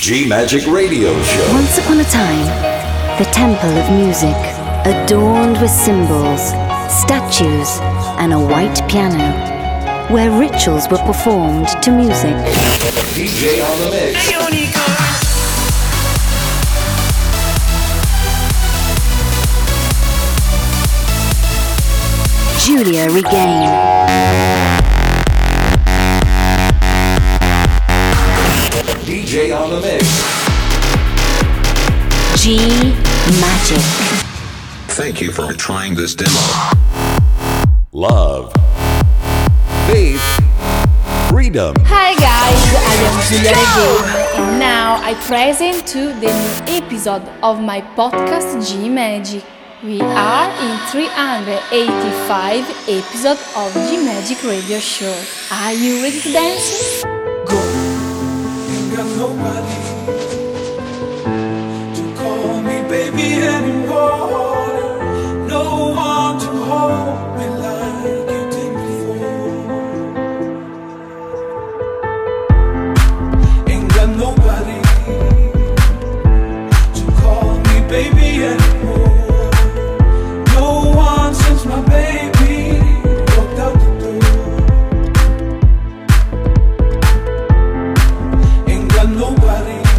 G Magic Radio Show. Once upon a time, the temple of music, adorned with symbols, statues, and a white piano, where rituals were performed to music. DJ on the mix. Giulia Regain. DJ on the mix. G Magic. Thank you for trying this demo. Love. Faith. Freedom. Hi guys, I am Giulia Regain and now I present to the new episode of my podcast G Magic. We are in 385 episode of G Magic Radio Show. Are you ready to dance? Go! Ain't got nobody to call me baby anymore. No one to hold me like you did before. Ain't got nobody to call me baby anymore. No one since my baby walked out the door. Ain't got nobody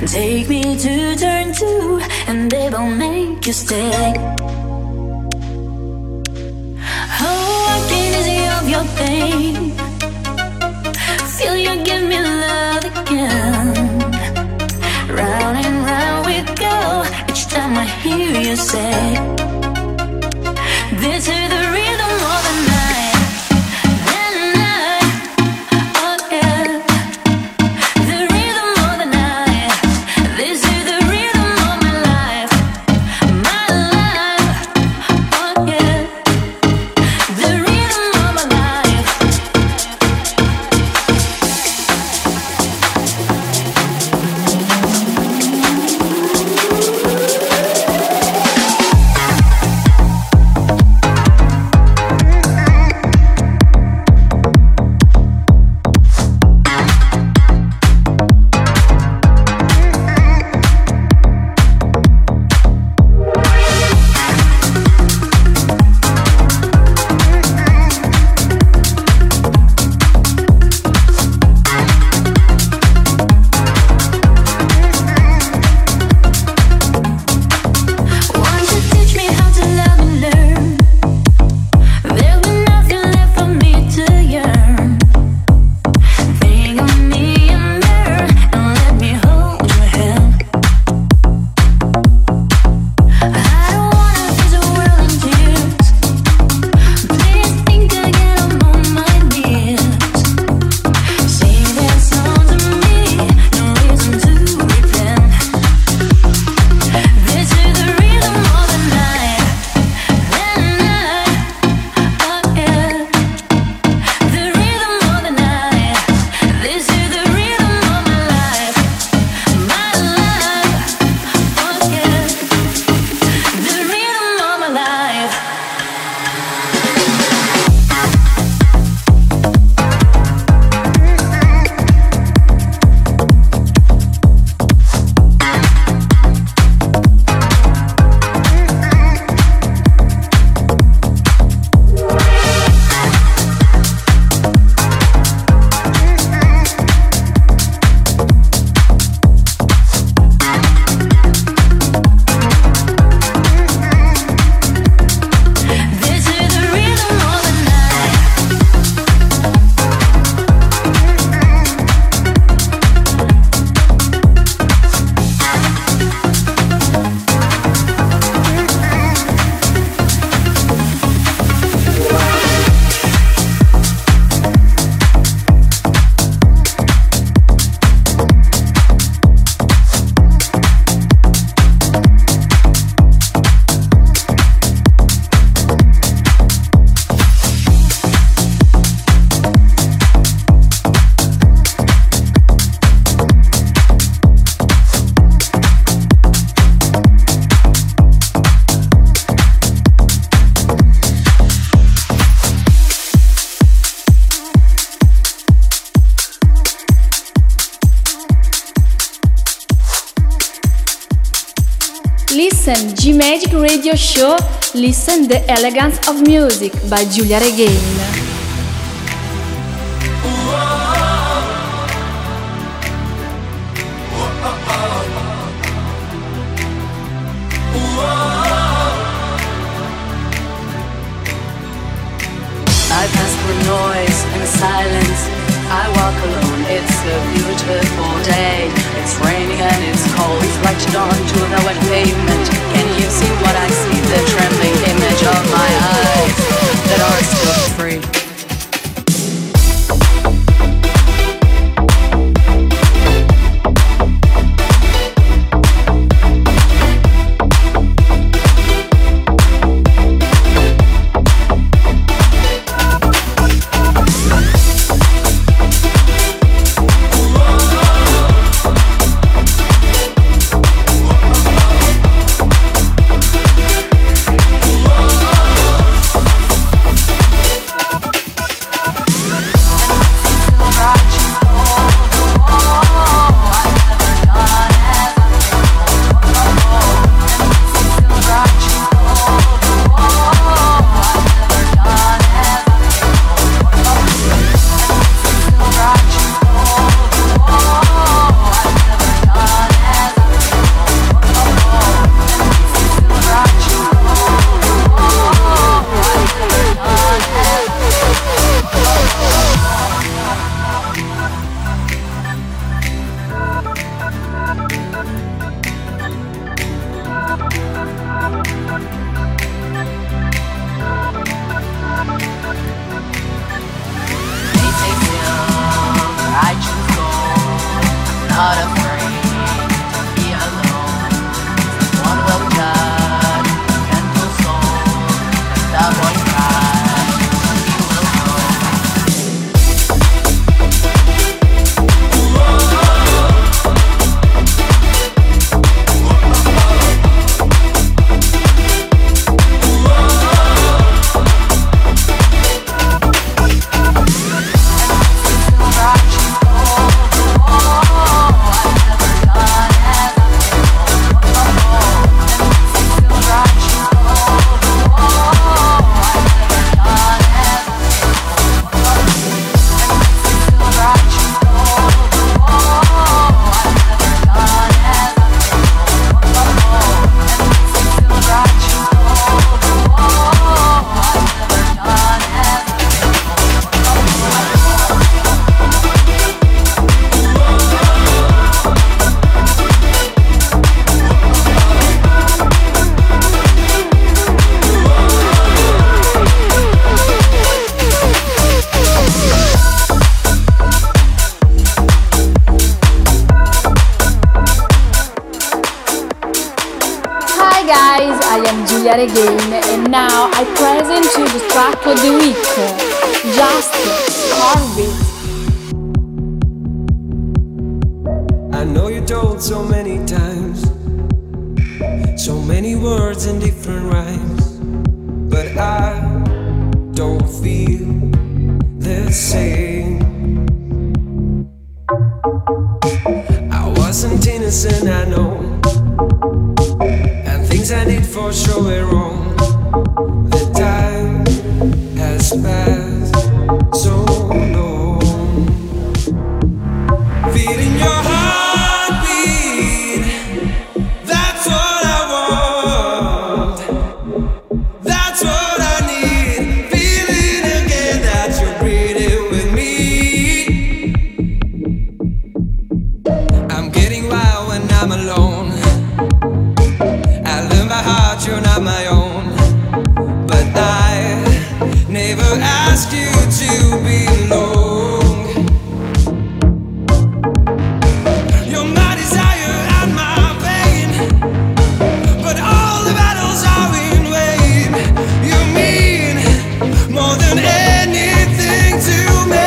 Take me to turn two, and they will make you stay. Oh, I can ease of your pain. Feel you give me love again. Round and round we go. Each time I hear you say, this is the rhythm of the night. Listen G-Magic Radio Show, listen the elegance of music by Giulia Regain. I pass through noise and silence. I walk alone, it's a beautiful day. It's raining and it's cold, reflected onto the wet pavement. Can you see what I see? The trembling image of my eyes that are still free. Oh, Juliet again, and now I present you the track of the week, Just Carve It. I know you told so many times, so many words in different rhymes, but I don't feel the same. I wasn't innocent, I know, and things I did for sure were wrong. The time has passed so long. Feeling your heartbeat, that's what I want, that's what I need. Feeling again that you're breathing with me. I'm getting wild when I'm alone. I learn by heart you're not my own, but I never asked you to belong. You're my desire and my pain, but all the battles are in vain. You mean more than anything to me.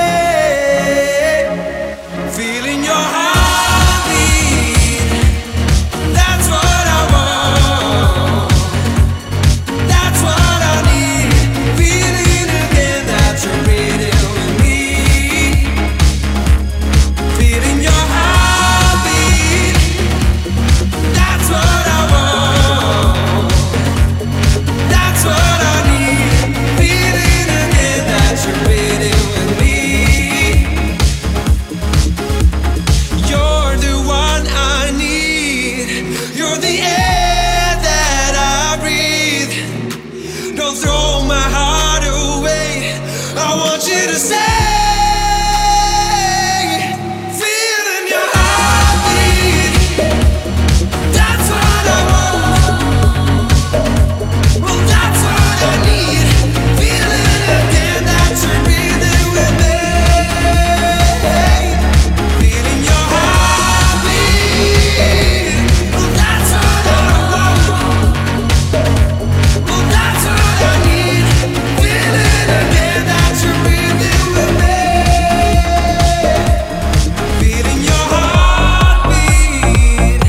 Feeling your heartbeat, that's what I want, that's what I need. Feeling again that you're breathing with me. Feeling your heartbeat, that's what I want, that's what I need. Feeling again that you're breathing with me. You're the one I need. You're the air that I breathe. Don't throw my heart away. I want you to stay. Feeling your heartbeat, that's what I want, well, that's what I need. Feeling again that you're breathing with me. Feeling your heartbeat, well, that's what I want, well, that's what I need. Feeling again that you're breathing with me. Feeling your heartbeat.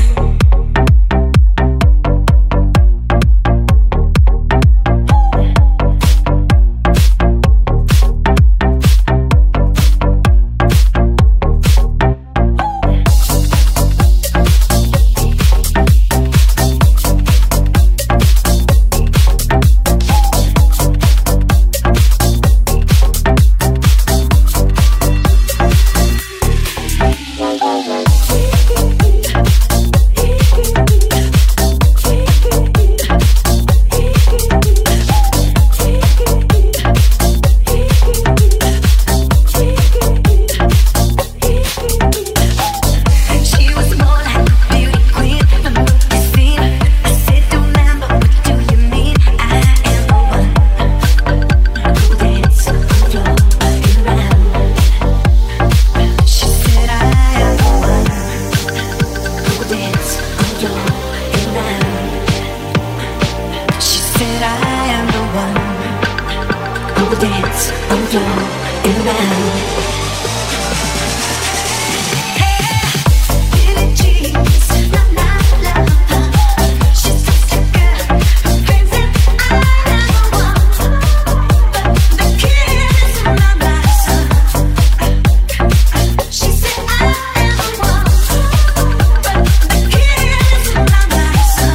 She was more like a beauty queen, a movie scene. I said, don't remember, what do you mean? I am the one who dance on the floor and around. She said, I am the one who dance on the floor and around. She said, I am the one who dance on the floor and around. Billie Jean is not my lover. She's just a girl who claims that I am the one, but the kid is not my son. She said I am the one, but the kid is not my son.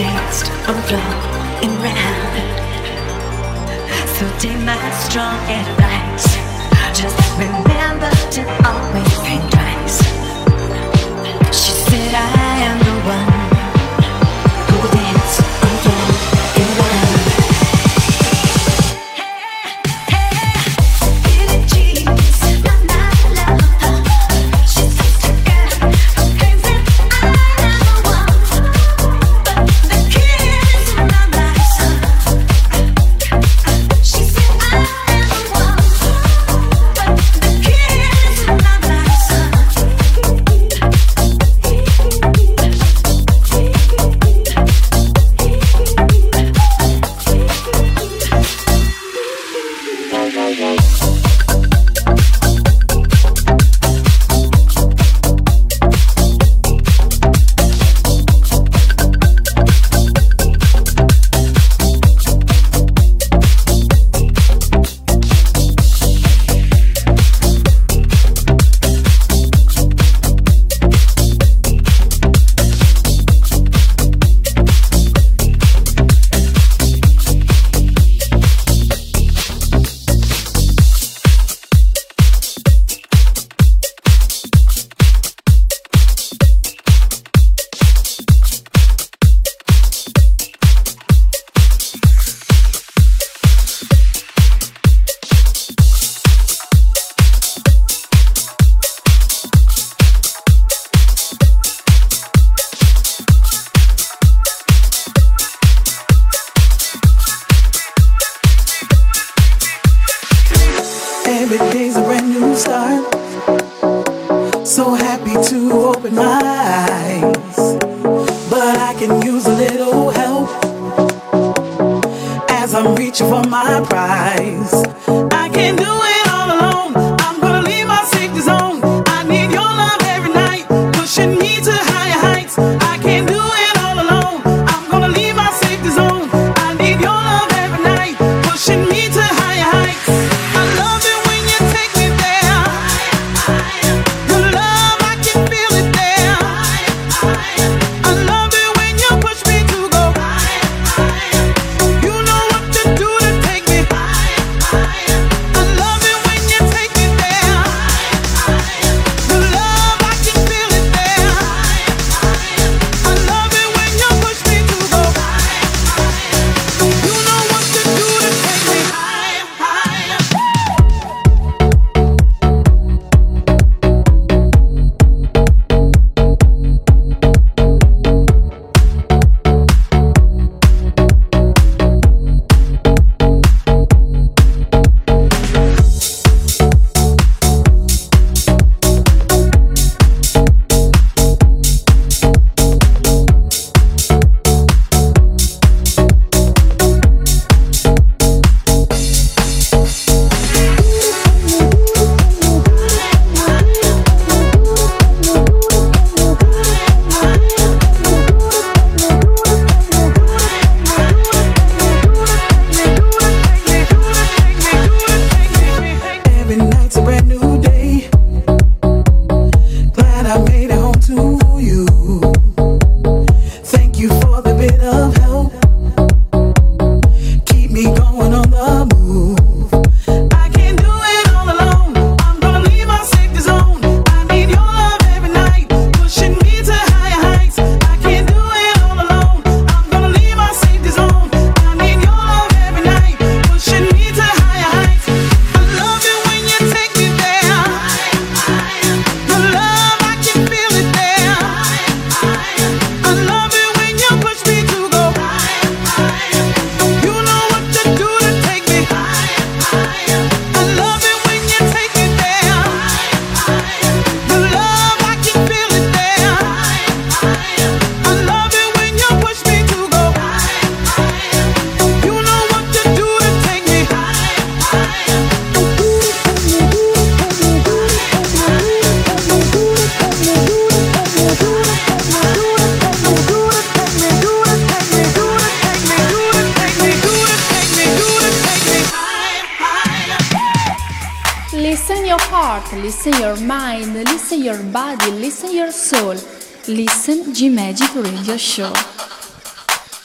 danced on the floor and ran. So take my strong advice. Just remember to always think twice. She said I am the one who will dance on the floor and run. Listen your mind, listen your body, listen your soul. Listen G-Magic Radio Show.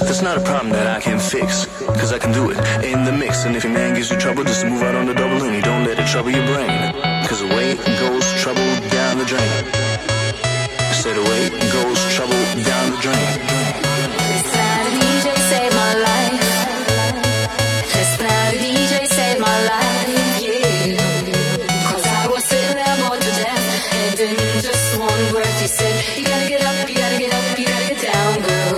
That's not a problem that I can fix, cause I can do it in the mix. And if your man gives you trouble, just move out on the double and don't let it trouble your brain. Cause away goes trouble down the drain. Said away goes trouble down the drain. This night a DJ saved my life. This night a DJ saved my life, yeah. Cause I was sitting there bored to death, and in just one breath he said, you gotta get up, you gotta get up, you gotta get down, girl.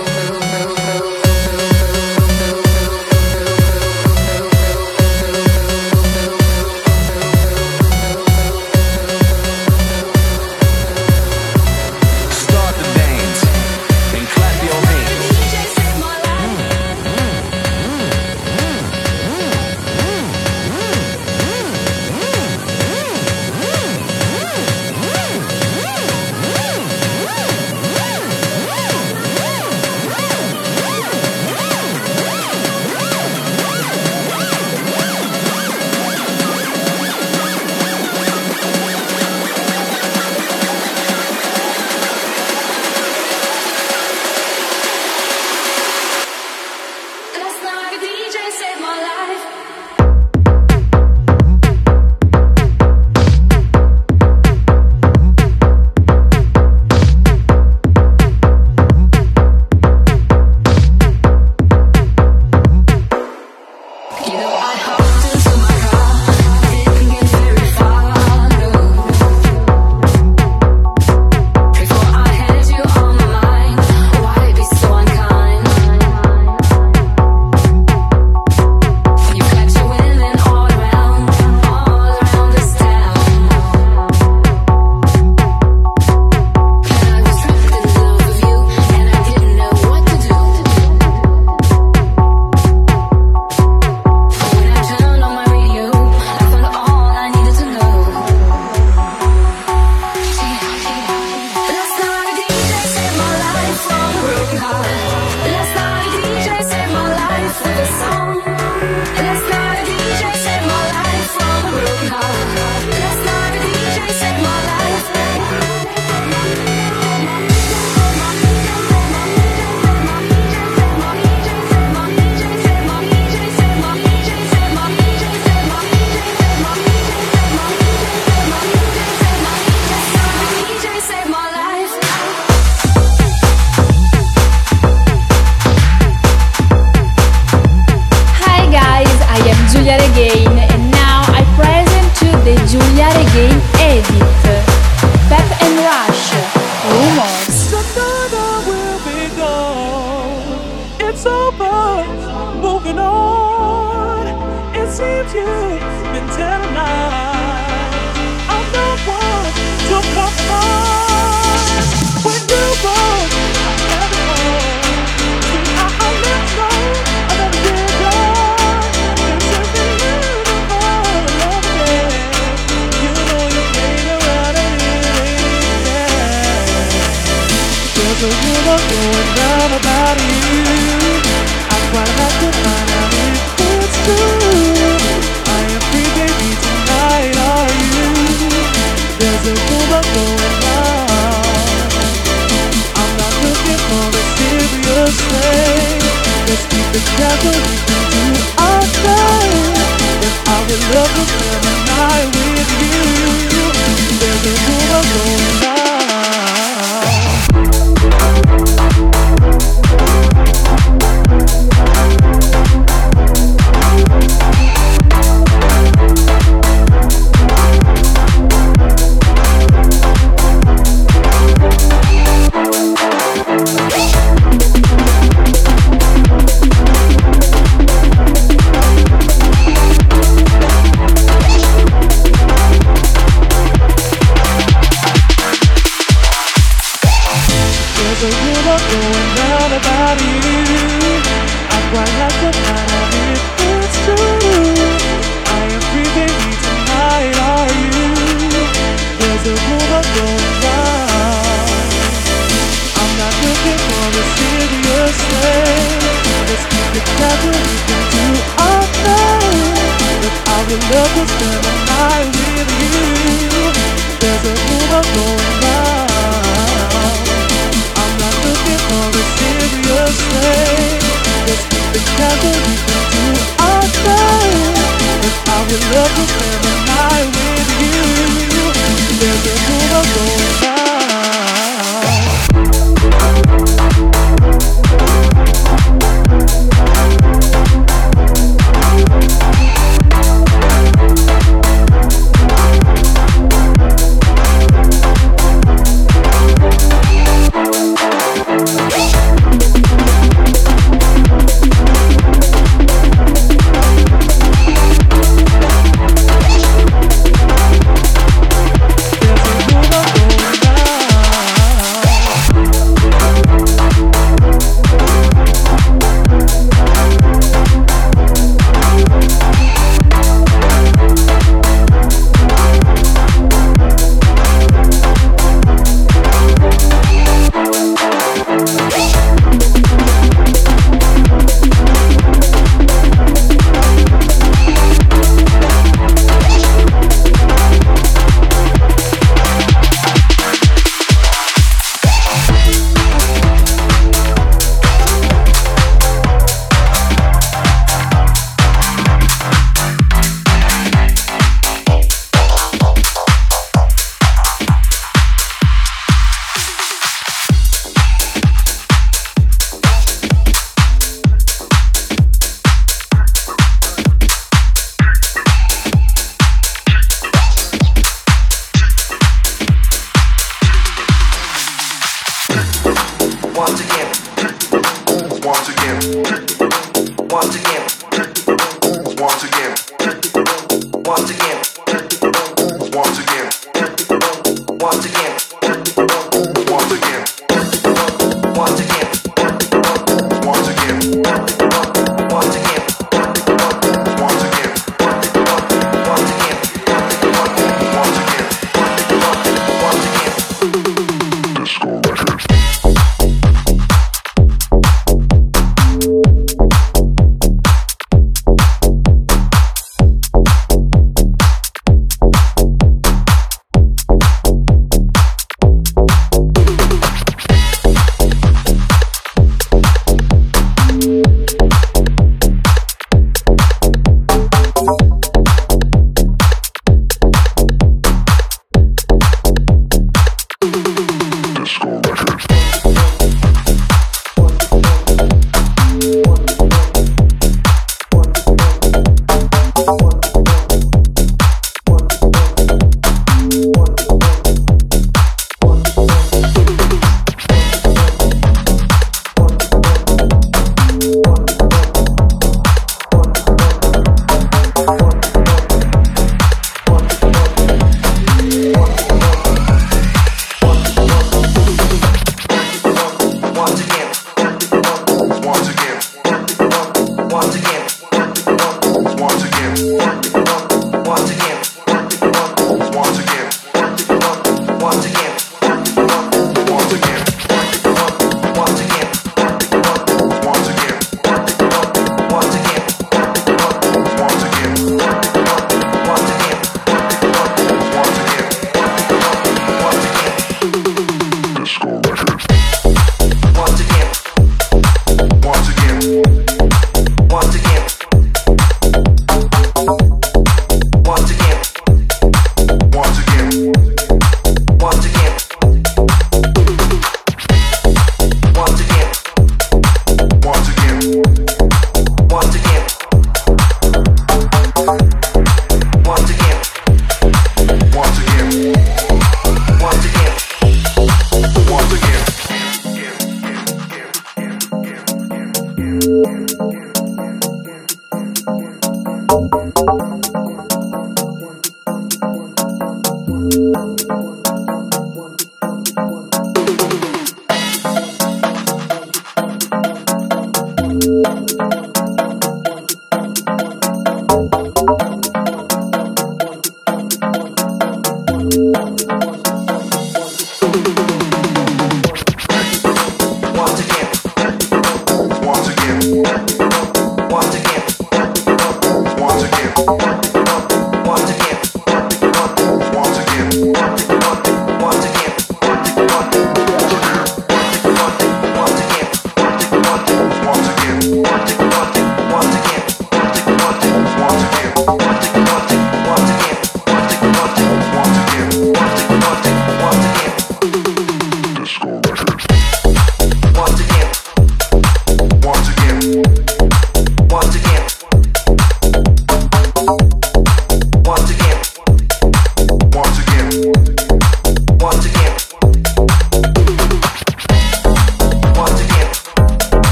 Once again.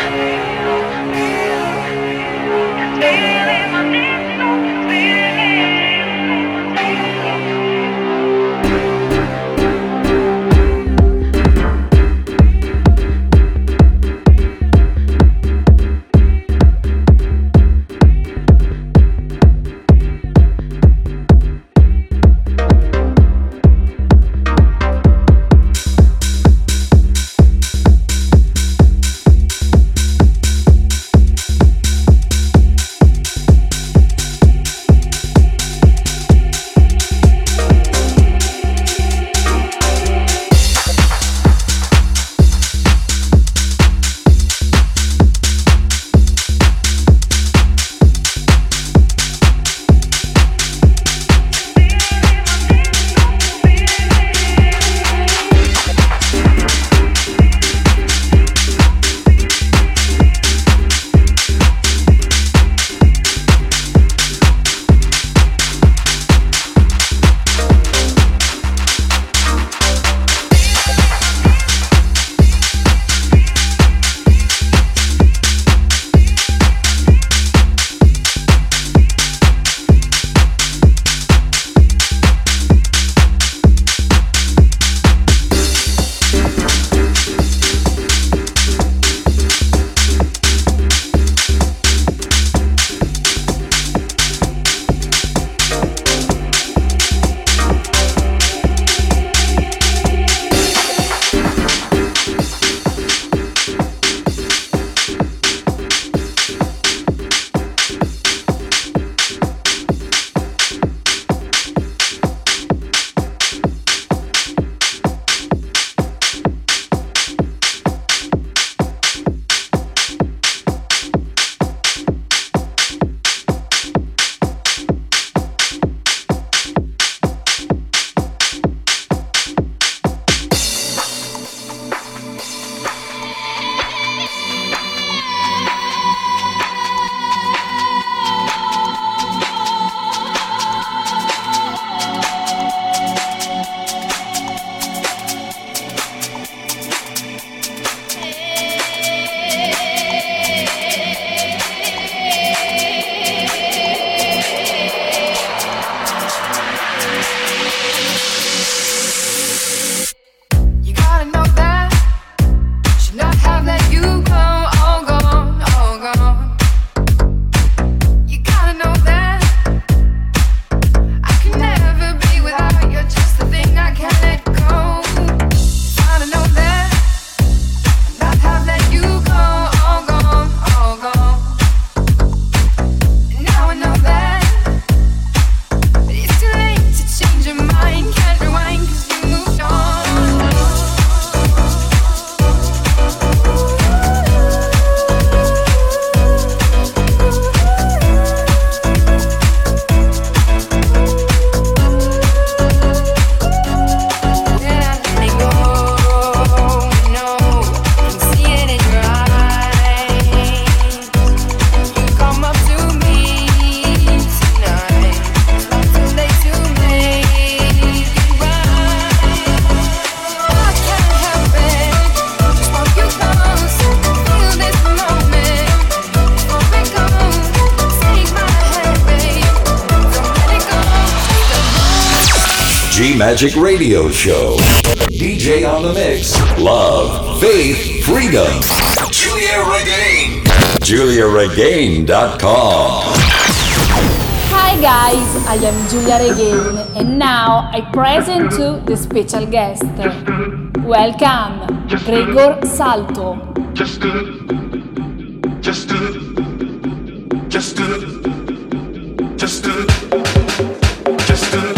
G-Magic Radio Show. DJ on the mix. Love, faith, freedom. Julia Regain. JuliaRegain.com. Hi guys, I am Giulia Regain and now I present to the special guest. Welcome, Gregor Salto. Just do, just do, just do, just do, just do.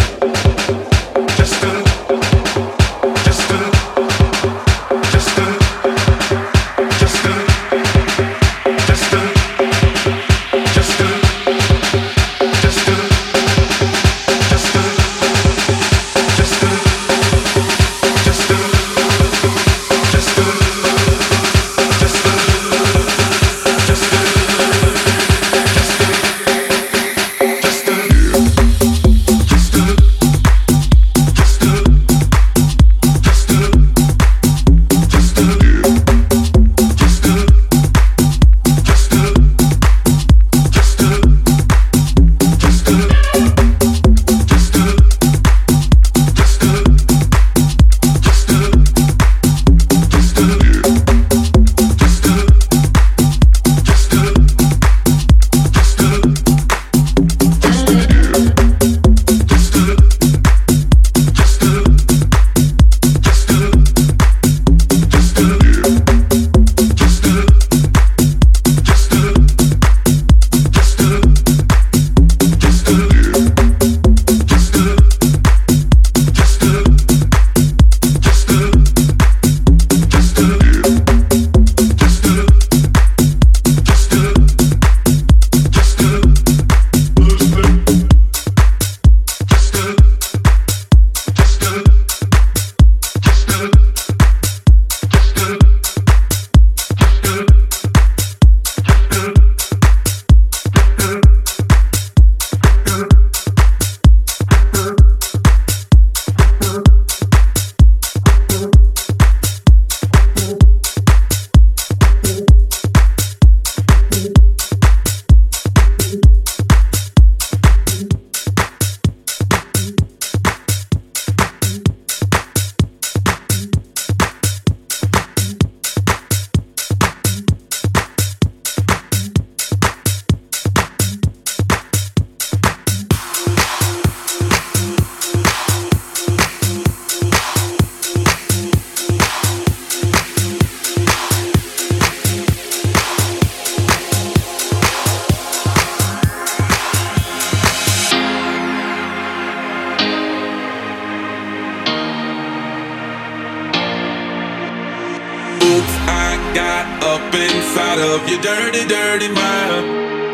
up inside of your dirty, dirty mind.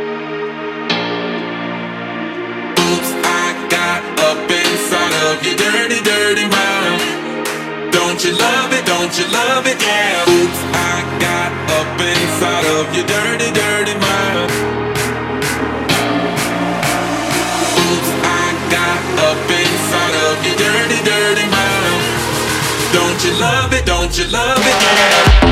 Oops, I got up inside of your dirty, dirty mind. Don't you love it? Don't you love it? Yeah. Oops, I got up inside of your dirty, dirty mind. Oops, I got up inside of your dirty, dirty mind. Don't you love it? Don't you love it? Yeah.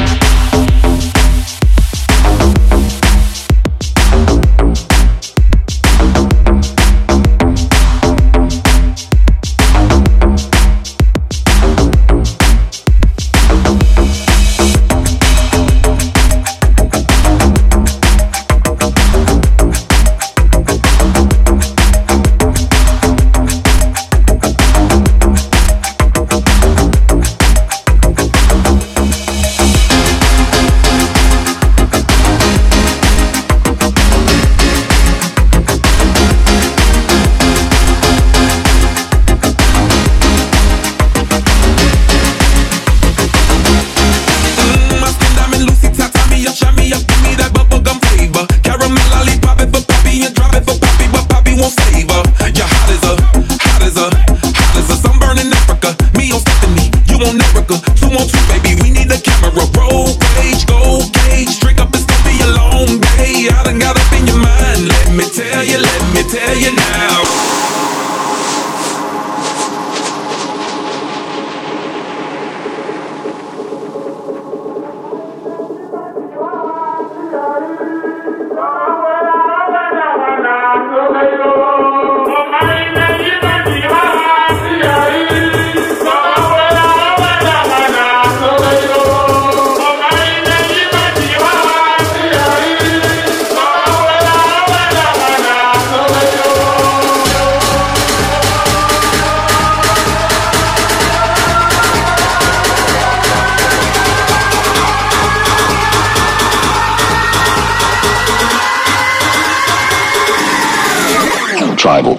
Tribal.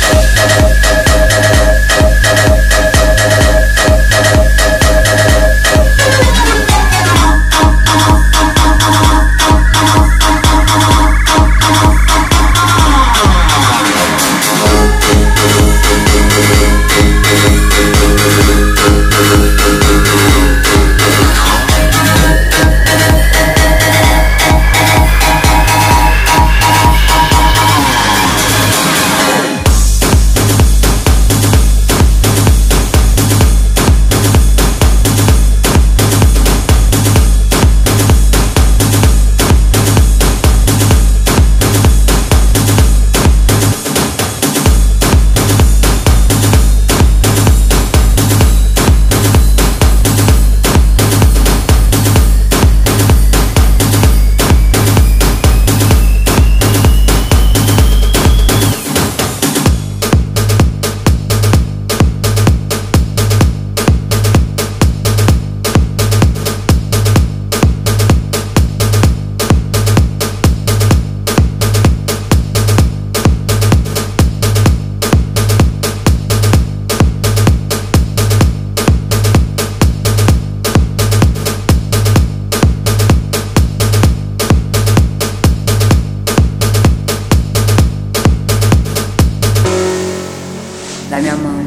La mia mano.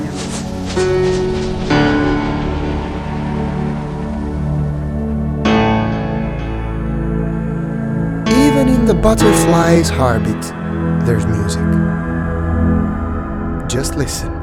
Even in the butterfly's heartbeat, there's music. Just listen.